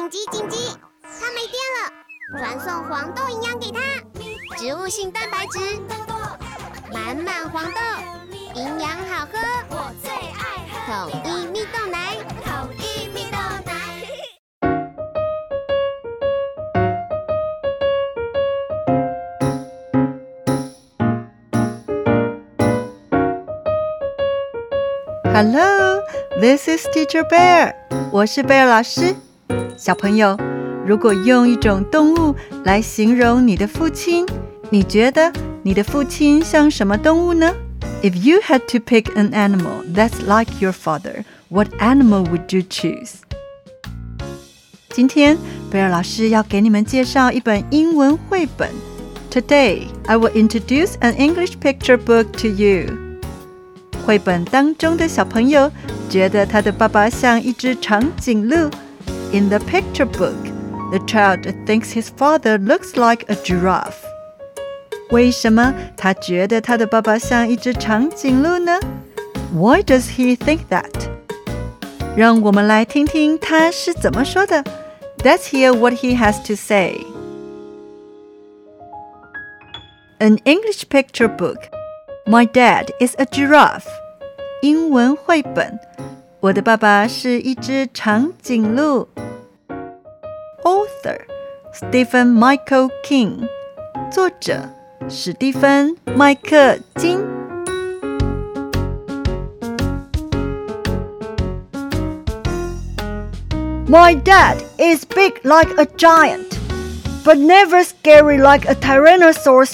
緊急！它沒電了，傳送黃豆營養給它，植物性蛋白質，滿滿黃豆，營養好喝，我最愛喝統一蜜豆奶，統一蜜豆奶。 Hello, this is Teacher Bear. 我是貝爾老師。小朋友，如果用一種動物來形容你的父親，你覺得你的父親像什麼動物呢？ If you had to pick an animal that's like your father, what animal would you choose? 今天，貝爾老師要給你們介紹一本英文繪本。Today, I will introduce an English picture book to you.繪本當中的小朋友覺得他的爸爸像一隻長頸鹿。In the picture book, the child thinks his father looks like a giraffe. 為什麼他覺得他的爸爸像一隻長頸鹿呢？ Why does he think that? 讓我們來聽聽他是怎麼說的。Let's hear what he has to say. An English picture book.My dad is a giraffe. 英文繪本，我的爸爸是一隻長頸鹿。Author Stephen Michael King. 作者史蒂芬·麥克金。My dad is big like a giant, but never scary like a Tyrannosaurus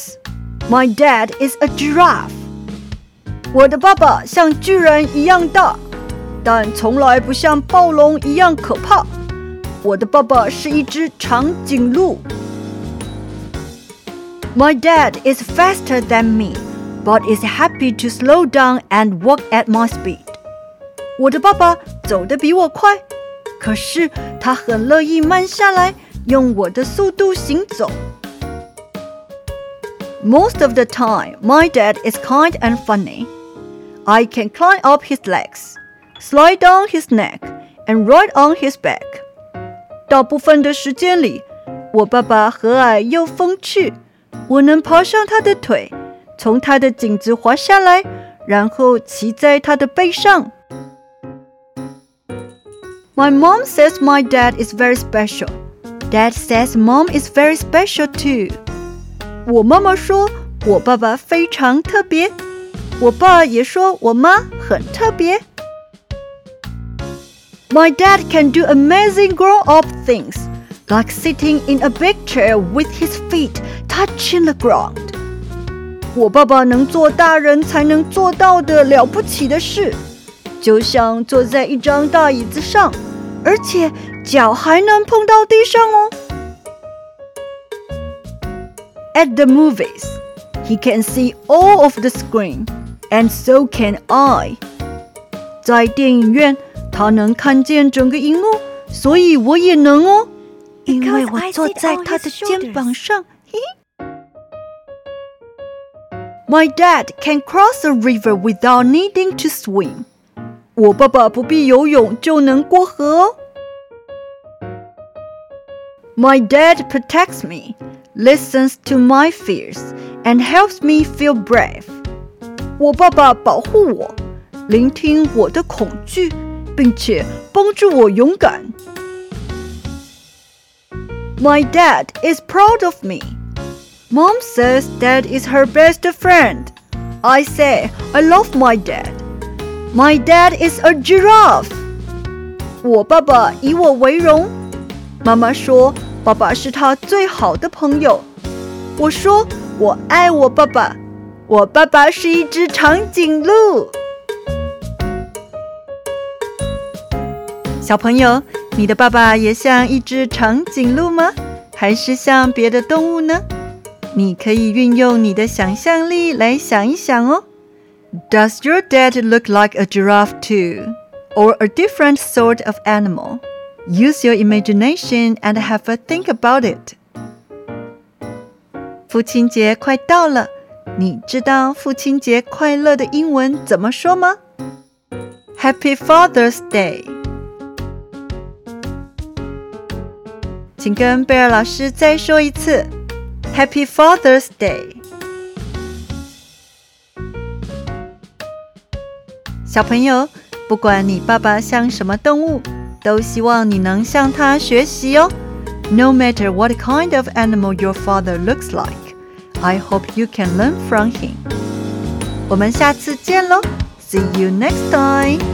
Rex.My dad is a giraffe. 我的爸爸像巨人一樣大，但從來不像暴龍一樣可怕。我的爸爸是一隻長頸鹿。My dad is faster than me, but is happy to slow down and walk at my speed. 我的爸爸走得比我快，可是他很樂意慢下來，用我的速度行走。Most of the time, my dad is kind and funny. I can climb up his legs, slide down his neck, and ride on his back. 大部分的時間裡，我爸爸和藹又風趣，我能爬上他的腿，從他的頸子滑下來，然後騎在他的背上。My mom says my dad is very special. Dad says mom is very special too.我媽媽說我爸爸非常特別，我爸也說我媽很特別。My dad can do amazing grown-up things, like sitting in a big chair with his feet touching the ground. 我爸爸能做大人才能做到的了不起的事，就像坐在一張大椅子上，而且腳還能碰到地上哦。At the movies, he can see all of the screen, and so can I. 在電影院，他能看見整個熒幕，所以我也能哦，因為我坐在他的肩膀上。My dad can cross a river without needing to swim. 我爸爸不必游泳就能過河哦。My dad protects me.Listens to my fears and helps me feel brave. 我爸爸保護我，聆聽我的恐懼，並且幫助我勇敢。My dad is proud of me. Mom says dad is her best friend. I say I love my dad. My dad is a giraffe. 我爸爸以我為榮。媽媽說爸爸是他最好的朋友。我說我愛我爸爸，我爸爸是一隻長頸鹿。小朋友，你的爸爸也像一隻長頸鹿嗎？還是像別的動物呢？你可以運用你的想象力來想一想哦。Does your dad look like a giraffe too? Or a different sort of animal?Use your imagination and have a think about it. 父親節快到了，你知道父親節快樂的英文怎麼說嗎？ Happy Father's Day. 請跟貝爾老師再說一次 Happy Father's Day。 小朋友，不管你爸爸像什麼動物，都希望你能向他學習哦。No matter what kind of animal your father looks like, I hope you can learn from him. 我們下次見嘍 See you next time!